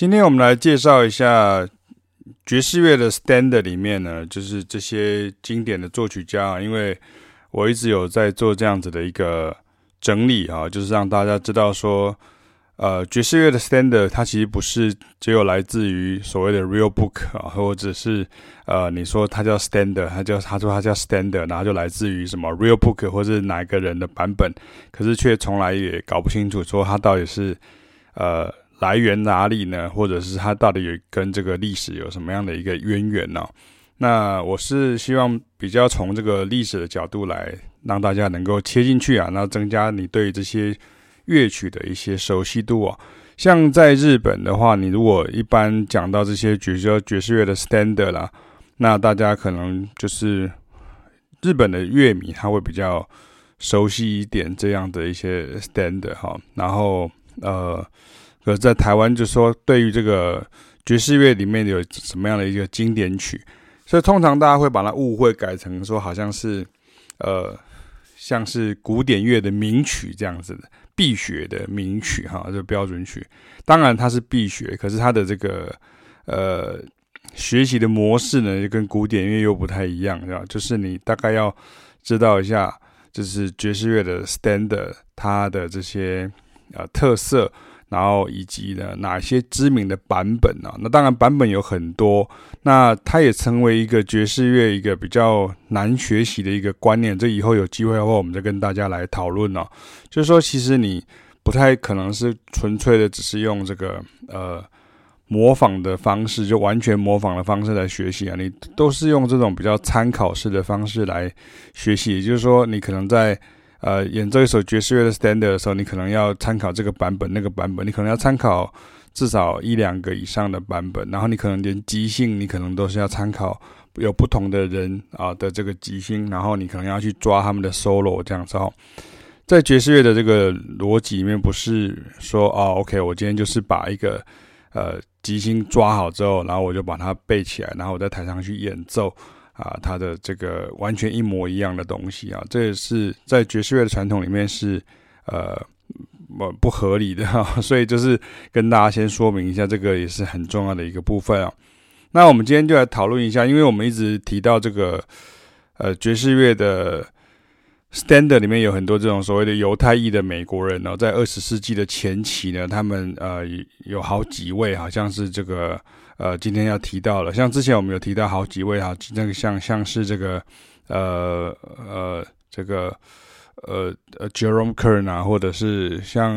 今天我們來介紹一下爵士樂的 standard 裡面呢，就是這些經典的作曲家，因為我一直有在做這樣子的一個整理啊，就是讓大家知道說，爵士樂的 standard 它其實不是只有來自於所謂的 real book 啊，或者是你說它叫 standard， 他說它叫 standard， 然後就來自於什麼 real book 或是哪一個人的版本，可是卻從來也搞不清楚說它到底是來源哪裡呢？或者是它到底有跟這個歷史有什麼樣的一個淵源呢？那我是希望比較從這個歷史的角度來讓大家能夠切進去啊，然後增加你對這些樂曲的一些熟悉度啊。像在日本的話，你如果一般講到這些爵士樂的 standard 啦，那大家可能就是日本的樂迷他會比較熟悉一點這樣的一些 standard 哈，然後可是在台灣就說對於這個爵士樂裡面有什麼樣的一個經典曲，所以通常大家會把它誤會改成說好像是像是古典樂的名曲這樣子的必學的名曲哈，就標準曲。當然它是必學，可是它的這個學習的模式呢，就跟古典樂又不太一樣，是吧？就是你大概要知道一下，就是爵士樂的 standard 它的這些特色。然後以及呢哪些知名的版本啊？那當然版本有很多，那它也成為一個爵士樂一個比較難學習的一個觀念。這以後有機會的話，我們再跟大家來討論哦。就是說，其實你不太可能是純粹的只是用這個模仿的方式，就完全模仿的方式來學習啊。你都是用這種比較參考式的方式來學習，也就是說，你可能在演奏一首爵士樂的 standard 的時候，你可能要參考這個版本、那個版本，你可能要參考至少1-2個以上的版本，然後你可能連即興，你可能都是要參考有不同的人的這個即興，然後你可能要去抓他們的 solo 這樣子哦。在爵士樂的這個邏輯裡面，不是說OK， 我今天就是把一個即興抓好之後，然後我就把它背起来，然後我在台上去演奏。它的這個完全一模一樣的東西啊，這也是在爵士樂的傳統裡面是不合理的啊，所以就是跟大家先說明一下，這個也是很重要的一個部分啊。那我們今天就來討論一下，因為我們一直提到這個爵士樂的 standard 裡面有很多這種所謂的猶太裔的美國人哦，在20世紀的前期呢，他們有好幾位好像是這個。今天要提到了，像之前我們有提到好幾位哈，那個像是這個Jerome Kern 啊，或者是像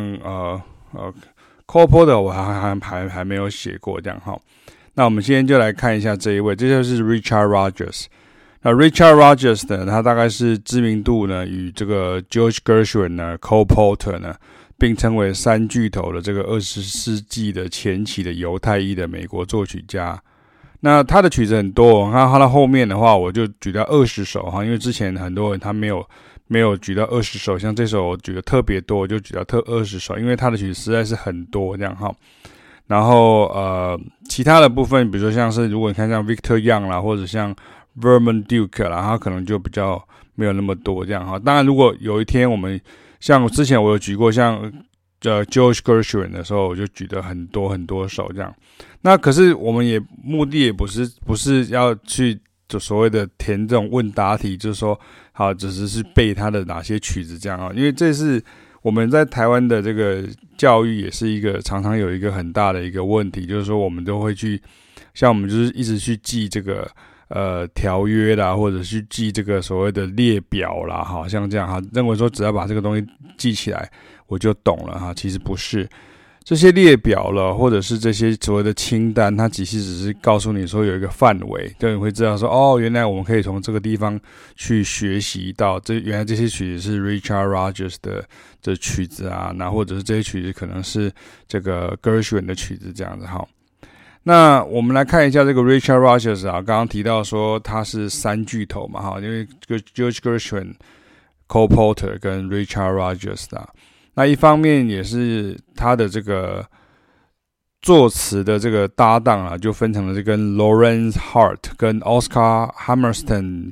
Cole Porter 我還沒有寫過這樣哈。那我們今天就來看一下這一位，這就是 Richard Rodgers。那 Richard Rodgers 呢，他大概是知名度呢與這個 George Gershwin 呢、Cole Porter 呢，並稱為三巨頭的這個20世紀的前期的猶太裔的美國作曲家。那他的曲子很多，那他的後面的話我就舉到20首哈，因為之前很多人他沒有舉到20首，像這首我舉的特別多，我就舉到20首，因為他的曲子實在是很多這樣哈。然後其他的部分，比如說像是如果你看像 Victor Young 啦，或者像 Vernon Duke 啦，他可能就比較沒有那麼多這樣哈。當然，如果有一天我們像之前我有舉過像George Gershwin 的時候，我就舉了很多首這樣。那可是我們目的也不是要去就所謂的填這種問答題，就是說好只是背他的哪些曲子這樣啊。因為這是我們在台灣的這個教育也是一個常常有一個很大的一個問題，就是說我們都會去像我們就是一直去記這個條約啦，或者去記這個所謂的列表啦，哈，像這樣哈，認為說只要把這個東西記起來，我就懂了哈。其實不是，這些列表了，或者是這些所謂的清單，它其實只是告訴你說有一個範圍，就你會知道說，哦，原來我們可以從這個地方去學習到，原來這些曲子是 Richard Rodgers 的曲子啊，那或者是這些曲子可能是這個 Gershwin 的曲子這樣子哈。那我們來看一下這個 Richard Rodgers 啊，剛剛提到說他是三巨頭嘛哈，因為 George Gershwin、Cole Porter 跟 Richard Rodgers 啊，那一方面也是他的這個作詞的這個搭檔啊，就分成了這個 Lawrence Hart 跟 Oscar Hammerstein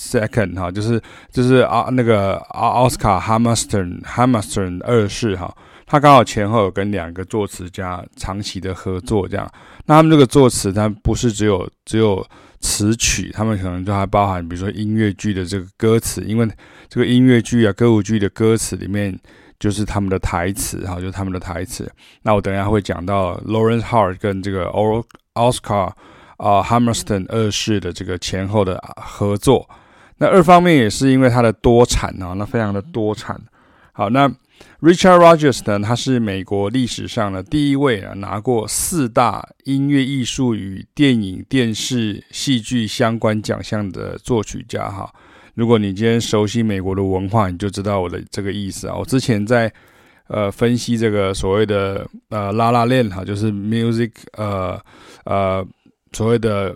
II 哈，就是那個 Oscar Hammerstein 二世哈。 他剛好前後有跟2個作詞家長期的合作，這樣。那他們這個作詞，它不是只有詞曲，他們可能就還包含，比如說音樂劇的這個歌詞，因為這個音樂劇啊、歌舞劇的歌詞裡面就是他們的台詞，哈，就是他們的台詞。那我等一下會講到 Lawrence Hart 跟這個 Oscar Hammerstein 二世的這個前後的合作。那二方面也是因為它的多產啊，那非常的多產。好，那 Richard Rodgers 呢，他是美國歷史上的第一位拿過4大音樂藝術與電影、電視、戲劇相關獎項的作曲家哈。如果你今天熟悉美國的文化，你就知道我的這個意思啊。我之前在分析這個所謂的La La Land 哈，就是 music 所謂的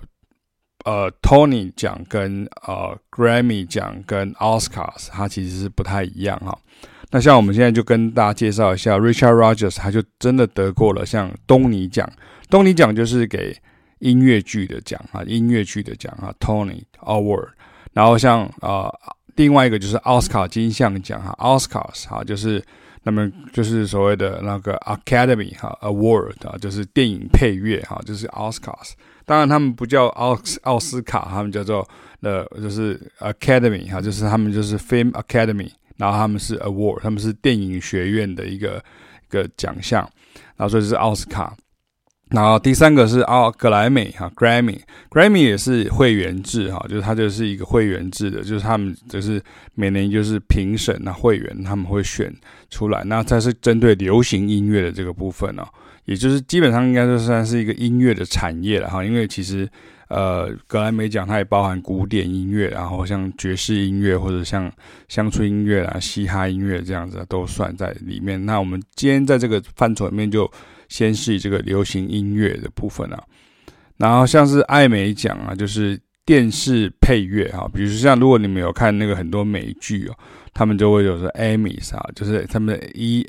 Tony 獎跟Grammy 獎跟 Oscars， 它其實是不太一樣哈。那像我們現在就跟大家介紹一下 Richard Rodgers， 他就真的得過了像東尼獎。東尼獎就是給音樂劇的獎啊，音樂劇的獎啊 ，Tony Award。然後像另外一個就是奧斯卡金像獎哈 ，Oscars 哈，就是那麼就是所謂的那個 Academy 哈 Award 啊，就是電影配樂哈，就是 Oscars。當然他們不叫奧斯卡，他們叫做就是 Academy 哈，就是他們就是 Film Academy， 然後他們是 Award， 他們是電影學院的一個獎項，然後所以是奧斯卡。然後第3個是格萊美哈 ，Grammy 也是會員制哈，就是它就是一個會員制的，就是他們就是每年就是評審啊會員他們會選出來，那它是針對流行音樂的這個部分哦，也就是基本上應該就算是一個音樂的產業了哈，因為其實格萊美獎它也包含古典音樂，然後像爵士音樂或者像鄉村音樂啊、嘻哈音樂這樣子都算在裡面。那我們今天在這個範疇裡面就先是以這個流行音樂的部分啊，然後像是艾美獎啊，就是電視配樂哈，比如說像如果你們有看那個很多美劇哦，他們就會有說 Emmys 啊，就是他們的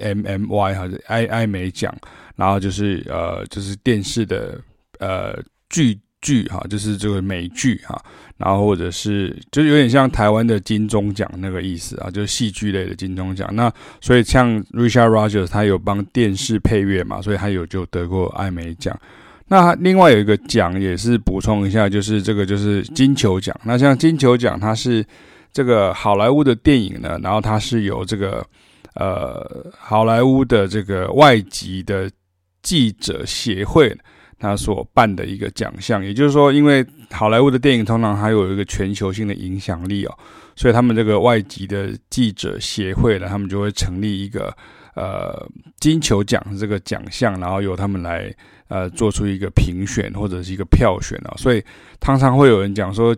EMMY 哈，艾美獎，然後就是電視的劇哈，就是這個美劇哈，然後或者是就有點像台灣的金鐘獎那個意思啊，就是戲劇類的金鐘獎。那所以像 Richard Rodgers 他有幫電視配樂嘛，所以他就得過艾美獎。那另外有一個獎也是補充一下，就是這個就是金球獎。那像金球獎，它是這個好萊塢的電影呢，然後它是由這個好萊塢的這個外籍的記者協會他所辦的一個獎項，也就是說，因為好萊塢的電影通常還有一個全球性的影響力哦，所以他們這個外籍的記者協會呢，他們就會成立一個金球獎這個獎項，然後由他們來做出一個評選或者是一個票選哦，所以常常會有人講說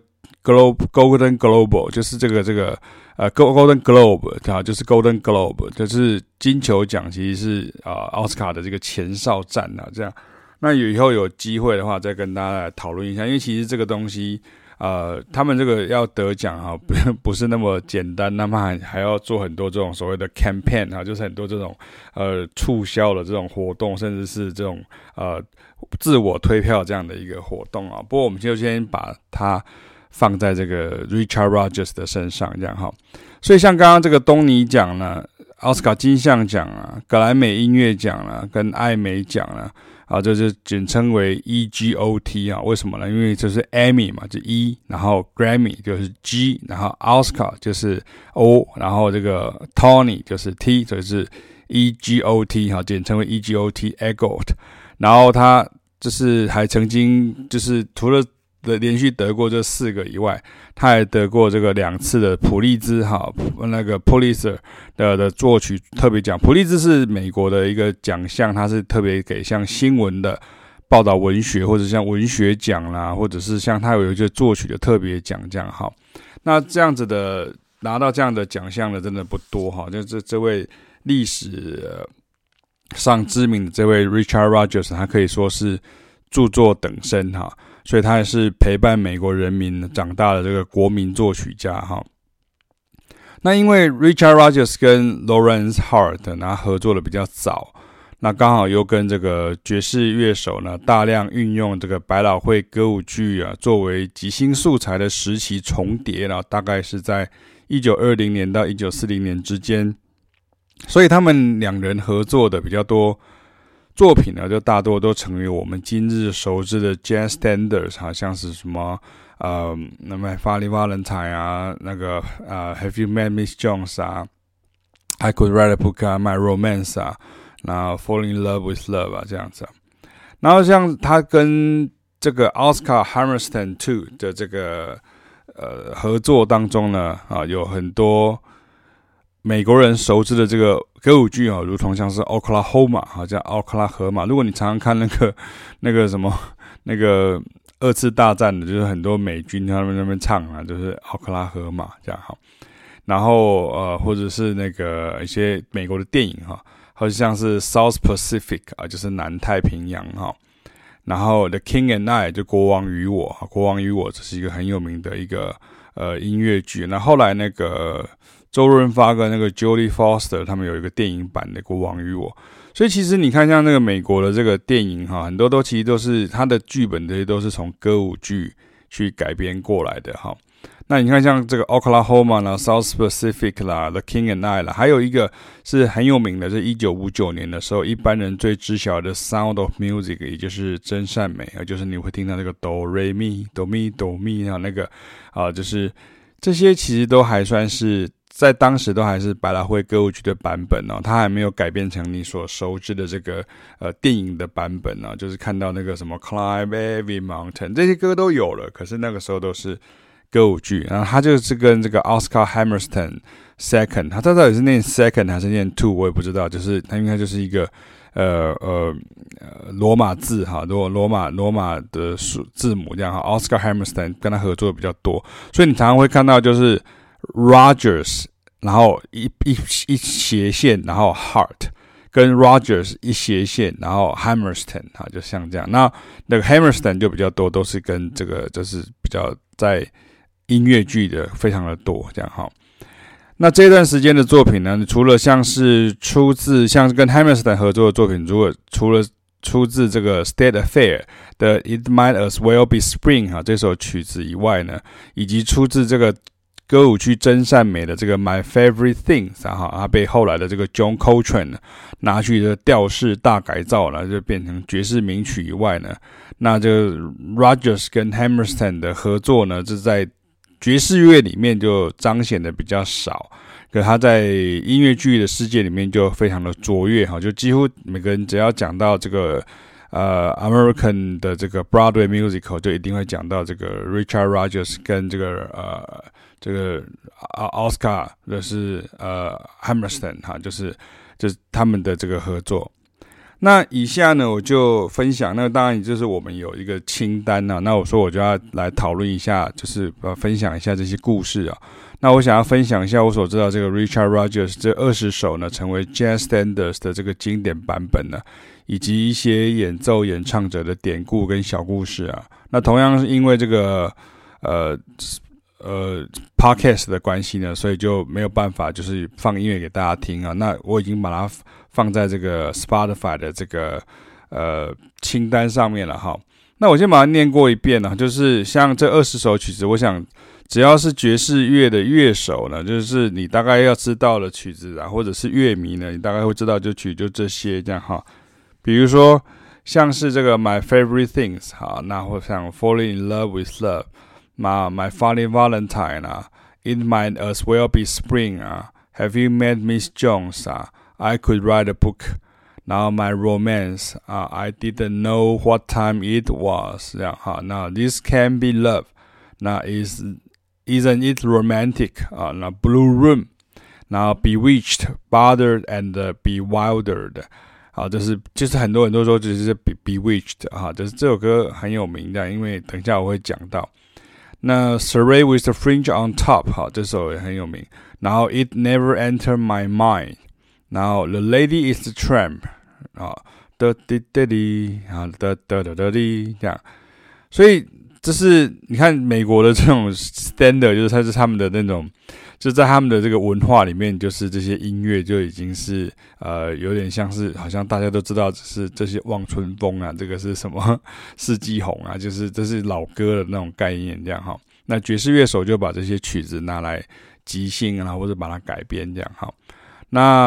Golden Globe 就是這個Golden Globe 啊，就是 Golden Globe 就是金球獎其實是奧斯卡的這個前哨戰啊，這樣。那以後有機會的話，再跟大家來討論一下，因為其實這個東西，他們這個要得獎哈，不是那麼簡單，那麼還要做很多這種所謂的 campaign 啊，就是很多這種促銷的這種活動，甚至是這種自我推票這樣的一個活動啊。不過我們就先把它放在這個 Richard Rodgers 的身上，這樣哈。所以像剛剛這個東尼獎呢，奧斯卡金像獎啊，格萊美音樂獎啊，跟艾美獎啊。這就簡稱為 EGOT 啊，為什麼呢？因為就是 Emmy 嘛，就 E， 然後 Grammy 就是 G， 然後 Oscar 就是 O， 然後這個 Tony 就是 T， 所以是 EGOT 哈，簡稱為 EGOT。然後他就是還曾經就是除了連續得過這4個以外，他還得過這個2次的普利茲哈，那個 Pulitzer 的作曲特別獎。普利茲是美國的一個獎項，它是特別給像新聞的報道文學，或者像文學獎啦，或者是像他有一個作曲的特別獎這樣哈。那這樣子的拿到這樣的獎項的真的不多哈，就這位歷史上知名的這位 Richard Rodgers， 他可以說是著作等身哈。所以他也是陪伴美國人民長大的這個國民作曲家哈。那因為 Richard Rodgers 跟 Lawrence Hart 他合作的比較早，那剛好又跟這個爵士樂手呢大量運用這個百老匯歌舞劇啊作為即興素材的時期重疊，然後大概是在1920年到1940年之間。 所以他們兩人合作的比較多作品呢，就大多都成為我們今日熟知的 jazz standards， 好像是什麼那麼 Funny Valentine 啊，那個Have You Met Miss Jones 啊 ，I Could Write a Book 啊 ，My Romance 啊，然後 Fall in Love with Love 啊這樣子。然後像他跟這個 Oscar Hammerstein II 的這個合作當中呢，有很多美國人熟知的這個歌舞劇如同像是 Oklahoma 叫奧克拉荷馬。如果你常常看那個什麼那個二次大戰的，就是很多美軍他們那邊唱啊，就是奧克拉荷馬這樣哈。然後或者是那個一些美國的電影哈，或者像是 South Pacific 就是南太平洋哈。然後 The King and I 就國王與我，國王與我這是一個很有名的一個音樂劇。那後來那個周潤發跟那個 Jodie Foster 他們有一個電影版的國王與我。所以其實你看像那個美國的這個電影哈，很多都其實都是它的劇本，這些都是從歌舞劇去改編過來的哈。那你看像這個 Oklahoma 啦 South Pacific 啦 The King and I 啦，還有一個是很有名的，是1959年的時候一般人最知曉的 Sound of Music， 也就是真善美，就是你會聽到那個哆瑞咪哆咪哆咪那個就是這些其實都還算是在當時都還是百老匯歌舞劇的版本它還沒有改變成你所熟知的這個電影的版本就是看到那個什麼 Climb Every Mountain 這些歌都有了，可是那個時候都是歌舞劇。然後他就是跟這個 Oscar Hammerstein II， 他到底是念 second 還是念 two 我也不知道，就是他应該就是一個羅馬字哈，羅馬的字母這樣哈。Oscar Hammerstein 跟他合作的比較多，所以你常常會看到就是 Rogers， 然後一斜線，然後 Hart， 跟 Rogers 一斜線，然後 Hammerstein 哈，就像這樣。那個 Hammerstein 就比較多，都是跟這個就是比較在音樂劇的非常的多這樣哈。那這段時間的作品呢，除了像是出自像是跟 Hammerstein 合作的作品，除了出自這個 State Affair 的 It Might As Well Be Spring 哈這首曲子以外呢，以及出自這個歌舞劇真善美的這個 My Favorite Things 它被後來的這個 John Coltrane 拿去的調式大改造了，就變成爵士名曲以外呢，那這個 Rogers 跟 Hammerstein 的合作呢，這在爵士樂裡面就彰顯的比較少，可他在音樂劇的世界裡面就非常的卓越哈，就幾乎每個人只要講到這個American 的這個 Broadway musical， 就一定會講到這個 Richard Rogers 跟這個Oscar 就是 Hammerstein 哈，就是他們的這個合作。那以下呢，我就分享，那當然就是我們有一個清單那我說我就要來討論一下，就是分享一下這些故事那我想要分享一下我所知道這個 Richard Rogers 這20首呢成為 Jazz Standards 的這個經典版本以及一些演奏演唱者的典故跟小故事那同樣是因為這個podcast 的關係呢，所以就沒有辦法就是放音樂給大家聽那我已經把它放在這個 Spotify 的這個清單上面了哈。那我先把它念過一遍就是像這20首曲子，我想只要是爵士樂的樂手呢，就是你大概要知道的曲子或者是樂迷呢，你大概會知道就這些這樣哈。比如說像是這個 My Favorite Things 那或像 Falling in Love with Love。My Funny Valentine It Might As Well Be Spring Have You Met Miss Jones I Could Write a Book 然後 My Romance I Didn't Know What Time It Was 這樣那 This Can Be Love 那 Isn't It Romantic 那 Blue Room 然後 Bewitched Bothered and Bewildered 就是很多人都說就是 Bewitched 就是這首歌很有名的，因為等一下我會講到。那 Surrey with the Fringe on Top 這首也很有名，然後 It Never Entered My Mind， 然後 The Lady is the Tramp 噠滴噠滴噠噠噠噠滴這樣，所以這是你看美國的這種 standard， 就是它是他們的那種，就在他們的這個文化裡面，就是這些音樂就已經是有點像是好像大家都知道是這些望春風這個是什麼四季紅就是這是老歌的那種概念這樣哈。那爵士樂手就把這些曲子拿來即興或者把它改編這樣哈。那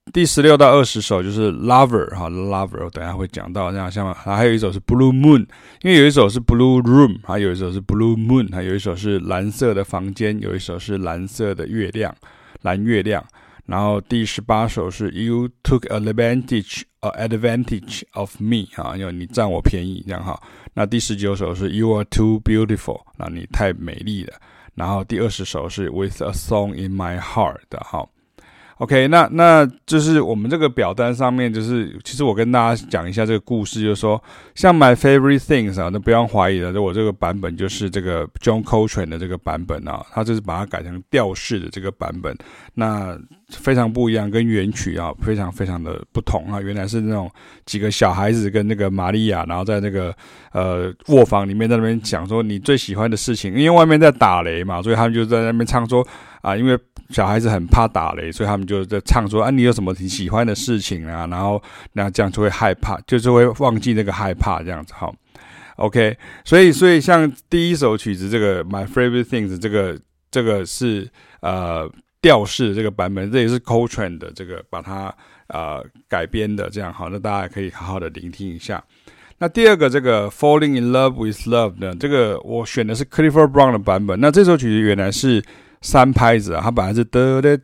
第16到20首就是 Lover 哈 ，Lover 我等一下會講到，這樣像還有一首是 Blue Moon， 因為有一首是 Blue Room， 還有一首是 Blue Moon， 還有一首是藍色的房間，有一首是藍色的月亮，藍月亮。然後第18首是 You Took Advantage of Me 哈，因為你佔我便宜這樣哈。那第19首是 You Are Too Beautiful， 那你太美麗了。然後第20首是 With a Song in My Heart 的哈。OK， 那就是我們這個表單上面，就是其實我跟大家講一下這個故事，就是說像 My Favorite Things 啊，那不用懷疑了，我這個版本就是這個 John Coltrane 的這個版本啊，他就是把它改成調式的這個版本，那非常不一樣，跟原曲啊非常非常的不同啊。原來是那種幾個小孩子跟那個瑪利亞，然後在那個臥房裡面在那邊講說你最喜歡的事情，因為外面在打雷嘛，所以他們就在那邊唱說啊，因為小孩子很怕打雷，所以他們就在唱說啊，你有什麼你喜歡的事情啊？然後那這樣就會害怕，就是會忘記那個害怕這樣子哈。OK， 所以像第一首曲子這個 My Favorite Things 這個是調式的這個版本，這也是 Coltrane 的這個把它改編的這樣好，那大家可以好好的聆聽一下。那第二個這個 Falling in Love with Love 呢，這個我選的是 Clifford Brown 的版本。那這首曲子原來是3拍子啊，它本來是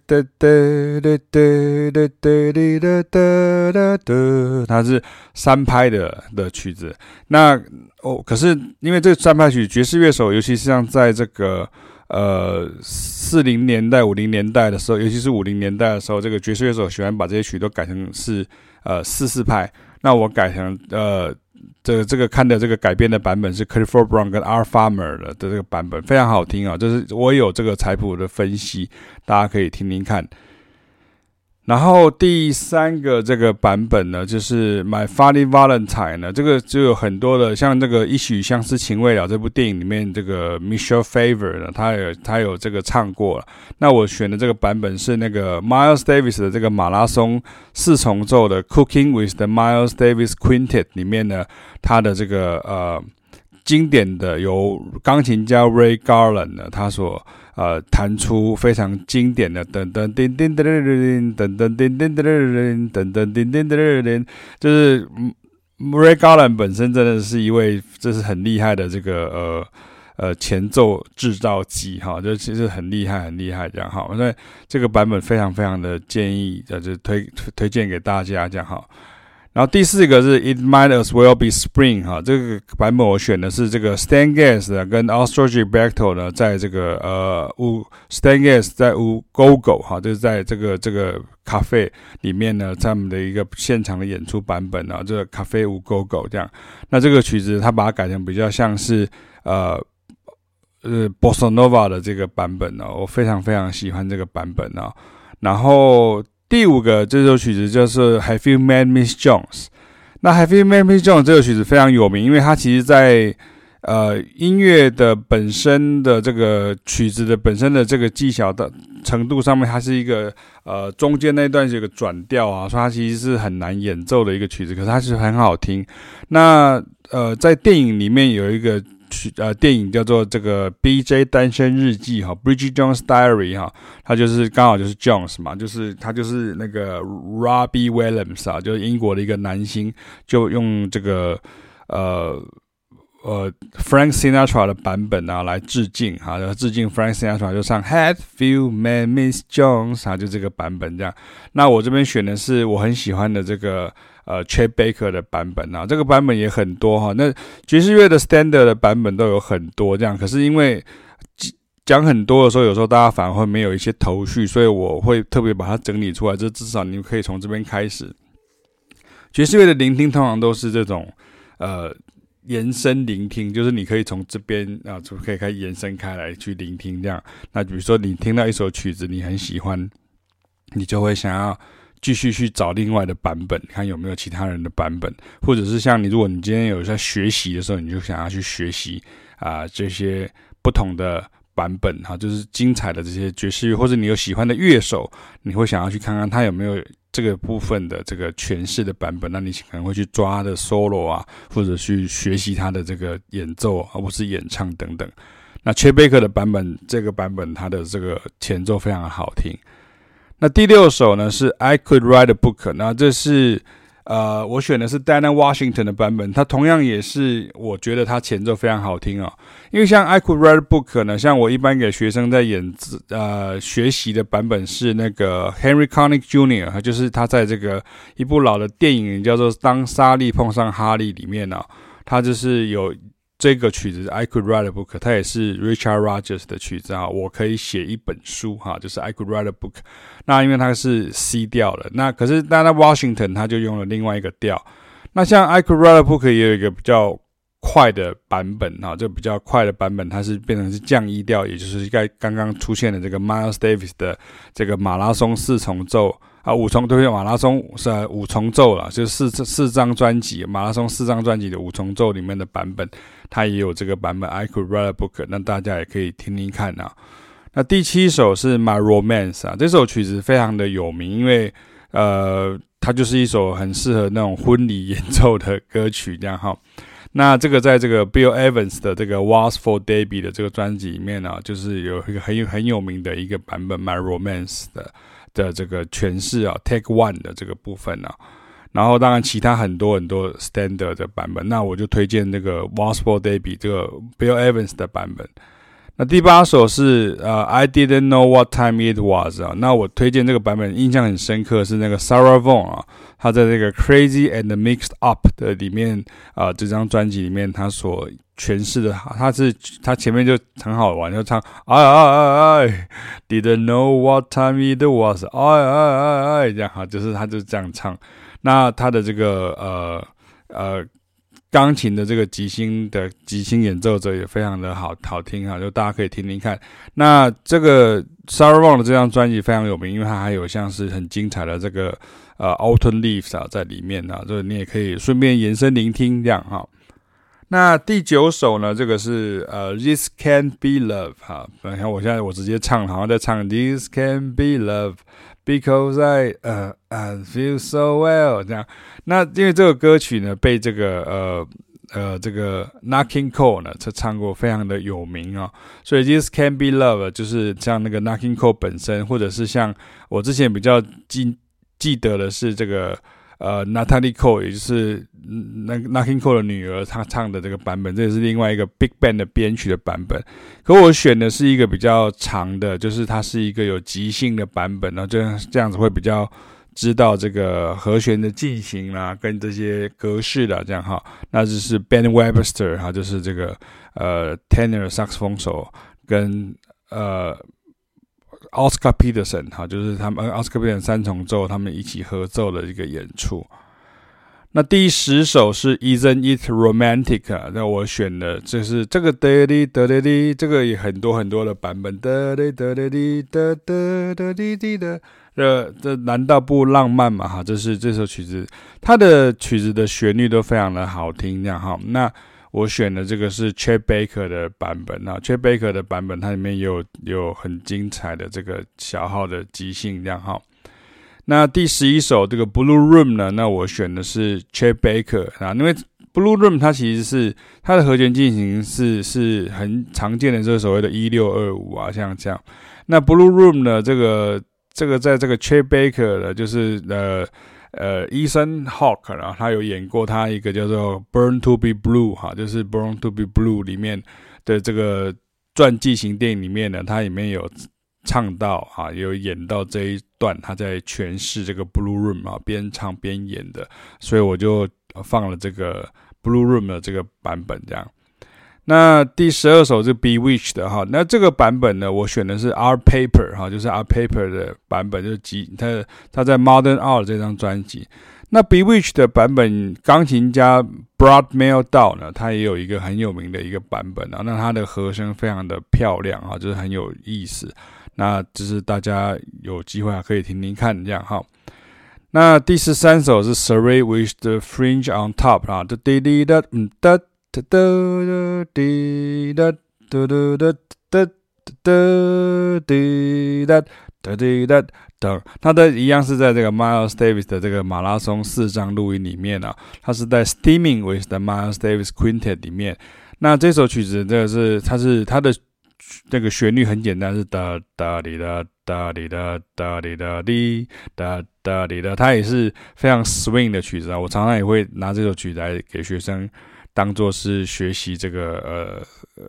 它是3拍的曲子。那可是因為这个3拍曲，爵士樂手尤其是像在這個40年代、50年代的時候，尤其是50年代的時候，這個爵士樂手喜歡把這些曲都改成是4/4拍。那我改成這個看的這個改編的版本是 Clifford Brown 跟 Art Farmer 的這個版本，非常好聽啊！就是我有這個彩譜的分析，大家可以聽聽看。然後第3個這個版本呢，就是 My Funny Valentine 呢，這個就有很多的，像這個一許相思情未了這部電影裡面，這個 Michelle Pfeiffer 呢，他有這個唱過了。那我選的這個版本是那個 Miles Davis 的這個馬拉松4重奏的 Cooking with the Miles Davis Quintet 裡面呢，他的這個經典的由鋼琴家 Ray Garland 呢，他所彈出非常經典的噔噔叮叮噔噔噔噔叮叮噔噔噔噔叮叮噔噔，就是 Ray Garland 本身真的是一位這是很厲害的這個前奏製造機哈，就其實很厲害很厲害這樣哈，所以這個版本非常非常的建議就推薦給大家這樣哈。然後第4個是 It Might As Well Be Spring 哈，這個版本我選的是這個 Stan Getz 的跟 Austro Gilberto 呢，在這個Stan Getz 在Go-Go 哈，就是在這個咖啡裡面呢，他們的一個現場的演出版本啊，這個咖啡Go-Go 這樣。那這個曲子他把它改成比較像是Bossa Nova 的這個版本我非常非常喜歡這個版本然後第5個這首曲子就是 Have You Met Miss Jones？ 那 Have You Met Miss Jones 這個曲子非常有名，因為它其實在音樂的本身的這個曲子的本身的這個技巧的程度上面，它是一個中間那段是一個轉調啊，所以它其實是很難演奏的一個曲子，可是它是很好聽。那在電影裡面有一個電影叫做這個 BJ 單身日記哈 ，Bridget Jones' Diary 哈，他就是剛好就是 Jones 嘛，就是他就是那個 Robbie Williams 啊，就是英國的一個男星，就用這個Frank Sinatra 的版本啊來致敬哈，致敬 Frank Sinatra 就唱 Have You Met Miss Jones 哈，就這個版本這樣。那我這邊選的是我很喜歡的這個Chet Baker 的版本啊，這個版本也很多哈。那爵士樂的 standard 的版本都有很多這樣，可是因為講很多的時候，有時候大家反而會沒有一些頭緒，所以我會特別把它整理出來，這至少你們可以從這邊開始。爵士樂的聆聽通常都是這種延伸聆聽，就是你可以從這邊就可以開始延伸開來去聆聽這樣。那比如說你聽到一首曲子你很喜歡，你就會想要繼續去找另外的版本，看有沒有其他人的版本，或者是像你，如果你今天有在學習的時候，你就想要去學習這些不同的版本哈，就是精彩的這些爵士樂，或者你有喜歡的樂手，你會想要去看看他有沒有這個部分的這個詮釋的版本，那你可能會去抓他的 solo 啊，或者去學習他的這個演奏啊，或是演唱等等。那 Chet Baker 的版本，這個版本它的這個前奏非常的好聽。 那第6首呢是 I Could Write a Book， 那這是我選的是 Dinah Washington 的版本，它同樣也是我覺得它前奏非常好聽哦。因為像 I Could Write a Book 呢，像我一般給學生在學習的版本是那個 Henry Connick Jr.， 就是他在這個一部老的電影叫做《當莎莉碰上哈利》裡面呢，他就是有這個曲子 I Could Write a Book， 它也是 Richard Rodgers 的曲子啊。我可以寫一本書哈，就是 I Could Write a Book。那因為它是 C 調的，那可是Dinah Washington 他就用了另外一個調。那像 I Could Write a Book 也有一個比較快的版本啊，這比較快的版本它是變成是降一調，也就是剛剛出現的這個 Miles Davis 的這個馬拉松4重奏。馬拉松是5重奏啦，就是四張專輯，馬拉松4張專輯的5重奏裡面的版本，它也有這個版本 I Could Write a Book， 那大家也可以聽聽看啊。那第7首是 My Romance 啊，這首曲子非常的有名，因為它就是一首很適合那種婚禮演奏的歌曲這樣哈。那這個在這個 Bill Evans 的這個 Waltz for Debby 的這個專輯裡面呢，就是有一個很有名的一個版本 My Romance 的這個詮釋啊 Take One 的這個部分啊，然後當然其他很多 standard 的版本，那我就推薦這個 Waltz for Debby 這個 Bill Evans 的版本。那第8首是I Didn't Know What Time It Was 啊，那我推薦這個版本印象很深刻是那個 Sarah Vaughan 啊，他在這個 Crazy and Mixed Up 的裡面這張專輯裡面他所詮釋的，他前面就很好玩，就唱I didn't know what time it was I 這樣哈，就是他就這樣唱。那他的這個鋼琴的這個即興演奏者也非常的好聽哈，就大家可以聽聽看。那這個 Sarah Vaughan 的這張專輯非常有名，因為它還有像是很精彩的這個Autumn Leaves 啊在裡面啊，這你也可以順便延伸聆聽這樣哈。那第9首呢，這個是This Can't Be Love 哈，你看我現在直接唱，好像在唱 This Can't Be Love Because I feel so well 這樣。那因為這個歌曲呢被這個Nat King Cole 呢唱過，非常的有名哦，所以 This Can't Be Love 就是像那個 Nat King Cole 本身，或者是像我之前比較記得的是這個Natalie Cole， 也就是Nat King Cole 的女兒，她唱的這個版本，這也是另外一個 Big Band 的編曲的版本。可我選的是一個比較長的，就是它是一個有即興的版本，然後就這樣子會比較知道這個和弦的進行啦，跟這些格式啦，這樣哈。那就是 Ben Webster 哈，就是這個tenor 薩克斯風手跟Oscar Peterson 哈，就是他們Oscar Peterson 3重奏他們一起合奏的一個演出。那第10首是 Isn't It Romantic 啊，那我選的就是這個噠哩噠哩哩，這個也很多的版本噠哩噠哩哩噠噠噠哩哩的，這難道不浪漫嘛哈？這是這首曲子，它的曲子的旋律都非常的好聽這樣哈。那我選的這個是 Chet Baker 的版本啊 ，Chet Baker 的版本它裡面有很精彩的這個小號的即興這樣哈。那第11首這個 Blue Room 呢，那我選的是 Chet Baker 啊，因為 Blue Room 它其實是它的和弦進行是很常見的這個所謂的1625啊，像這樣。那 Blue Room 呢，這個在這個 Chet Baker 的就是Ethan Hawke 然後他有演過他一個叫做 Born to be Blue 哈，就是 Born to be Blue 裡面的這個傳記型電影裡面呢，它裡面有唱到哈，有演到這一段他在詮釋這個 Blue Room 啊，邊唱邊演的，所以我就放了這個 Blue Room 的這個版本這樣。那第12首是 Bewitched 的哈，那這個版本呢，我選的是 Art Paper 哈，就是 Art Paper 的版本，就是他在 Modern Art 這張專輯。那 Bewitched 的版本，鋼琴家 Brad Mehldau 呢，他也有一個很有名的一個版本啊，那他的和聲非常的漂亮啊，就是很有意思。那就是大家有機會可以聽聽看這樣哈。那第13首是 Serenade with the Fringe on Top 啊，滴滴的噠噠噠滴噠噠噠噠噠噠滴噠噠滴噠等，它的一樣是在這個 Miles Davis 的這個馬拉松4張錄音裡面啊，它是在 Steaming with the Miles Davis Quintet 裡面。那這首曲子這個是它的那個旋律很簡單，是噠噠哩噠噠哩噠噠哩噠哩噠噠哩噠，它也是非常 swing 的曲子啊。我常常也會拿這首曲子來給學生當做是學習這個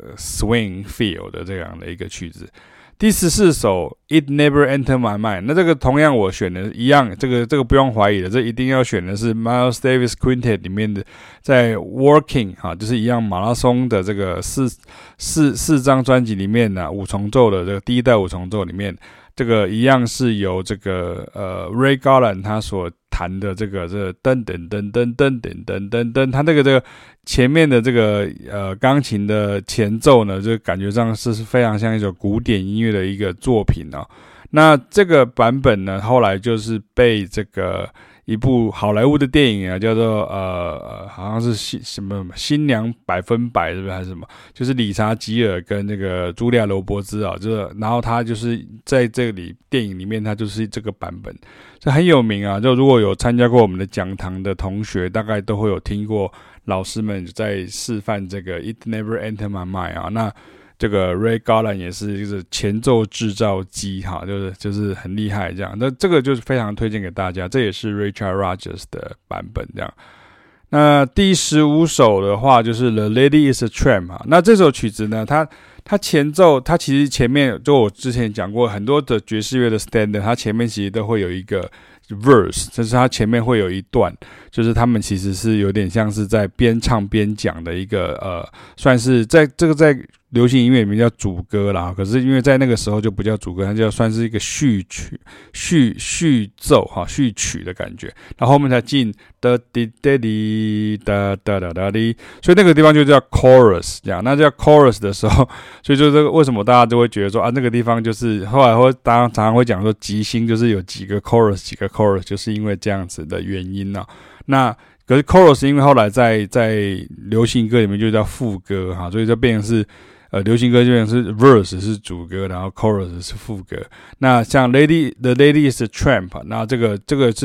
swing feel 的這樣的一個曲子。第14首 It Never Entered My Mind， 那這個同樣我選的一樣，這個不用懷疑的，這一定要選的是 Miles Davis Quintet 裡面的，在 Working 哈，就是一樣馬拉松的這個四張專輯裡面呢，五重奏的這個第一代五重奏裡面，這個一樣是由這個Ray Garland 他所彈的這個噔噔噔噔噔噔噔噔噔，他這個前面的這個鋼琴的前奏呢，就感覺上是非常像一首古典音樂的一個作品哦。那這個版本呢，後來就是被這個一部好萊塢的電影啊，叫做好像是什麼新娘100%是不是還是什麼？就是理查吉爾跟那個茱莉亞羅伯茲啊，然後他就是在這裡電影裡面，他就是這個版本，這很有名啊。就如果有參加過我們的講堂的同學，大概都會有聽過老師們在示範這個 It Never Entered My Mind 啊。那這個 Ray Garland 也是就是前奏製造機哈，就是很厲害這樣。那這個就是非常推薦給大家，這也是 Richard Rodgers 的版本這樣。那第15首的話就是 The Lady Is a Tramp 哈。那這首曲子呢，它前奏，它其實前面就我之前講過很多的爵士樂的 standard， 它前面其實都會有一個 verse， 就是它前面會有一段，就是他們其實是有點像是在邊唱邊講的一個算是在流行音樂裡面叫主歌啦，可是因為在那個時候就不叫主歌，它就算是一個序曲、序奏哈、序曲的感覺，然後後面才進噠滴噠滴噠噠噠噠滴，所以那個地方就叫 chorus 這樣。那叫 chorus 的時候，所以就這個為什麼大家都會覺得說啊，那個地方就是後來常常會講說即興就是有幾個 chorus， 就是因為這樣子的原因啊。那可是 chorus 因為後來在流行歌裡面就叫副歌哈，所以就變成是流行歌就變成是 verse 是主歌，然後 chorus 是副歌。那像 The Lady Is a Tramp， 那這個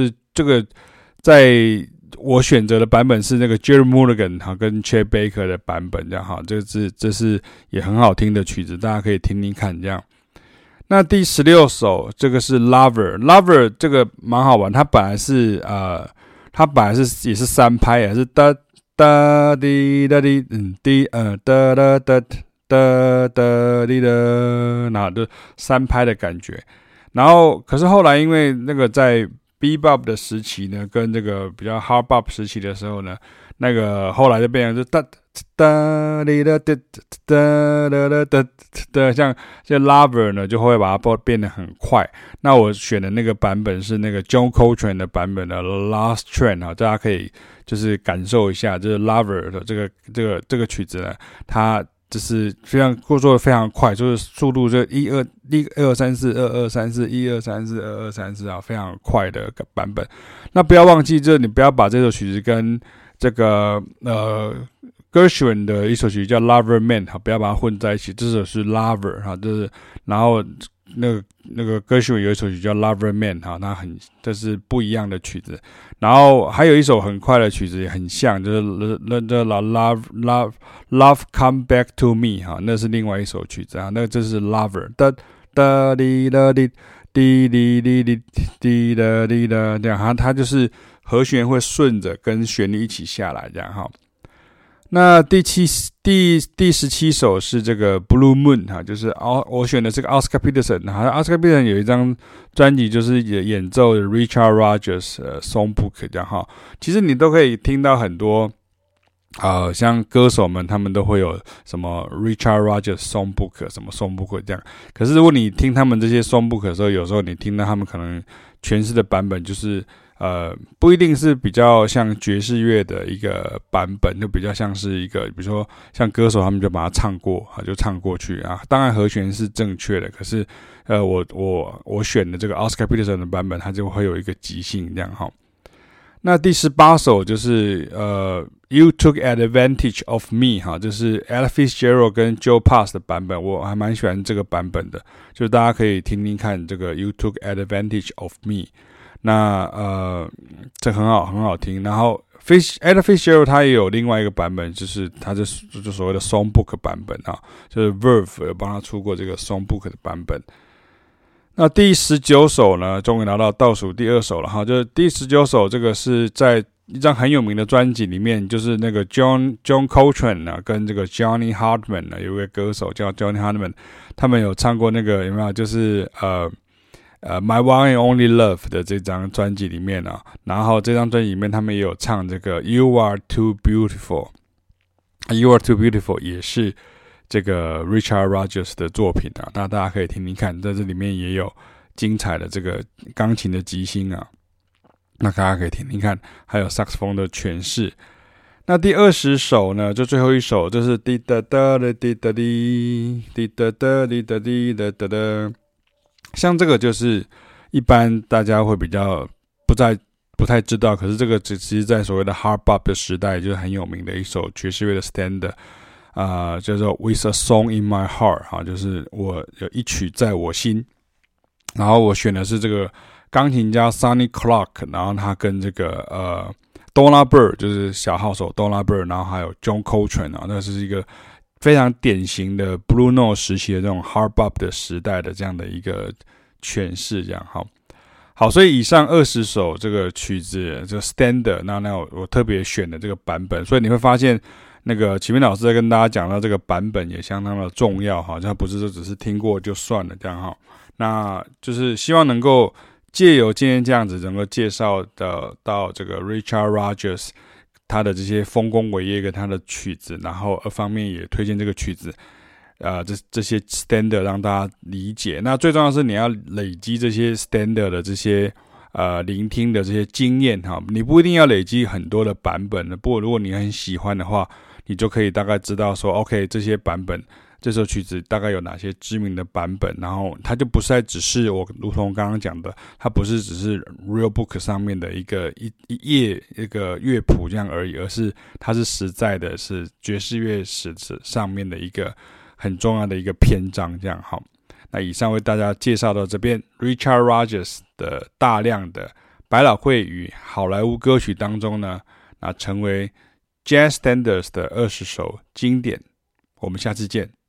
在我選擇的版本是那個 Jerry Mulligan 哈跟 Chet Baker 的版本這樣哈，這是也很好聽的曲子，大家可以聽聽看這樣。那第16首這個是 Lover 這個蠻好玩，它本來是也是3拍，也是噠噠滴噠滴滴噠噠噠噠噠滴噠，然後就3拍的感覺。然後可是後來因為那個在 Bebop 的時期呢，跟這個比較 Hard Bop 時期的時候呢，那個後來就變成就噠噠滴噠噠噠噠噠噠，像 Lover 呢就會把它變得很快。那我選的那個版本是那個 John Coltrane 的版本的 Last Train 啊，大家可以就是感受一下，就是 Lover 的這個曲子呢，它就是非常做的非常快，就是速度就1 2 3 4 2 2 3 4 1 2 3 4 2 2 3 4啊，非常快的版本。那不要忘記，就是你不要把这首曲子跟這個Gershwin 的一首曲子叫 Lover Man 哈，不要把它混在一起。這首是 Lover 哈，就是然後那個Gershwin有一首曲叫 Lover Man 哈，這是不一樣的曲子。然後還有一首很快的曲子也很像，就是 Love Come Back to Me 哈，那是另外一首曲子啊。那這是 Lover 噠噠滴噠滴滴滴滴滴滴噠滴噠這樣，它就是和弦會順着跟旋律一起下來這樣哈。那第17首是這個 Blue Moon 哈，就是我選的這個 Oscar Peterson 哈，Oscar Peterson 有一張專輯就是演奏的 Richard Rodgers Songbook 這樣哈。其實你都可以聽到很多像歌手們他們都會有什麼 Richard Rodgers Songbook 什麼 Songbook 這樣。可是如果你聽他們這些 Songbook 的時候，有時候你聽到他們可能詮釋的版本就是不一定是比較像爵士樂的一個版本，就比較像是一個，比如說像歌手他們就把它唱過就唱過去啊。當然和弦是正確的，可是我選的這個 Oscar Peterson 的版本，它就會有一個即興這樣哈。那第18首就是You Took Advantage of Me 哈，就是 Ella Fitzgerald 跟 Joe Pass 的版本，我還蠻喜歡這個版本的，就大家可以聽聽看這個 You Took Advantage of Me。那這很好聽，然後 Ella Fitzgerald 他也有另外一個版本，就是他就所謂的 Songbook 版本啊，就是 Verve 有幫他出過這個 Songbook 的版本。那第19首呢，終於拿到倒數第2首了哈，就是第19首，這個是在一張很有名的專輯裡面，就是那個 John Coltrane 呢，跟這個 Johnny Hartman 呢，有一位歌手叫 Johnny Hartman， 他們有唱過那個有沒有？就是My One and Only Love 的這張專輯裡面啊，然後這張專輯裡面他們也有唱這個 You Are Too Beautiful，You Are Too Beautiful 也是這個 Richard Rodgers 的作品啊，那大家可以聽聽看，在這裡面也有精彩的這個鋼琴的即興啊，那大家可以聽聽看，還有薩克斯風的詮釋。那第20首呢，就最後一首，就是滴答答的滴答滴，滴答答滴答滴答答答。像這個就是一般大家會比較不太知道，可是這個其實在所謂的 Hard Bop 的時代就是很有名的一首爵士樂的 Standard。叫做 With a Song in My Heart 就是我有一曲在我心，然後我選的是這個鋼琴家 Sonny Clark， 然後他跟這個Donald Byrd 就是小號手 Donald Byrd， 然後還有 John Coltrane 那是一個非常典型的 Blue Note 時期的這種 Hard Bop 的時代的這樣的一個詮釋，這樣好，所以以上20首這個曲子這個 Standard， 那我特別選的這個版本，所以你會發現。那個啟明老師在跟大家講到這個版本也相當的重要哈，它不是說只是聽過就算了這樣哈，那就是希望能夠借由今天這樣子能夠介紹到這個 Richard Rodgers 他的這些豐功偉業跟他的曲子，然後二方面也推薦這個曲子，這些 standard 讓大家理解。那最重要的是你要累積這些 standard 的這些聆聽的這些經驗哈，你不一定要累積很多的版本的，不過如果你很喜歡的話。你就可以大概知道說 ，OK， 這些版本，這首曲子大概有哪些知名的版本，然後它就不是只是我如同剛剛講的，它不是只是 Real Book 上面的一頁一個樂譜這樣而已，而是它是實在的，是爵士樂史上面的一個很重要的一個篇章這樣。好，那以上為大家介紹到這邊 ，Richard Rodgers 的大量的百老匯與好萊塢歌曲當中呢，那成為Jazz Standards 的20首經典，我們下次見。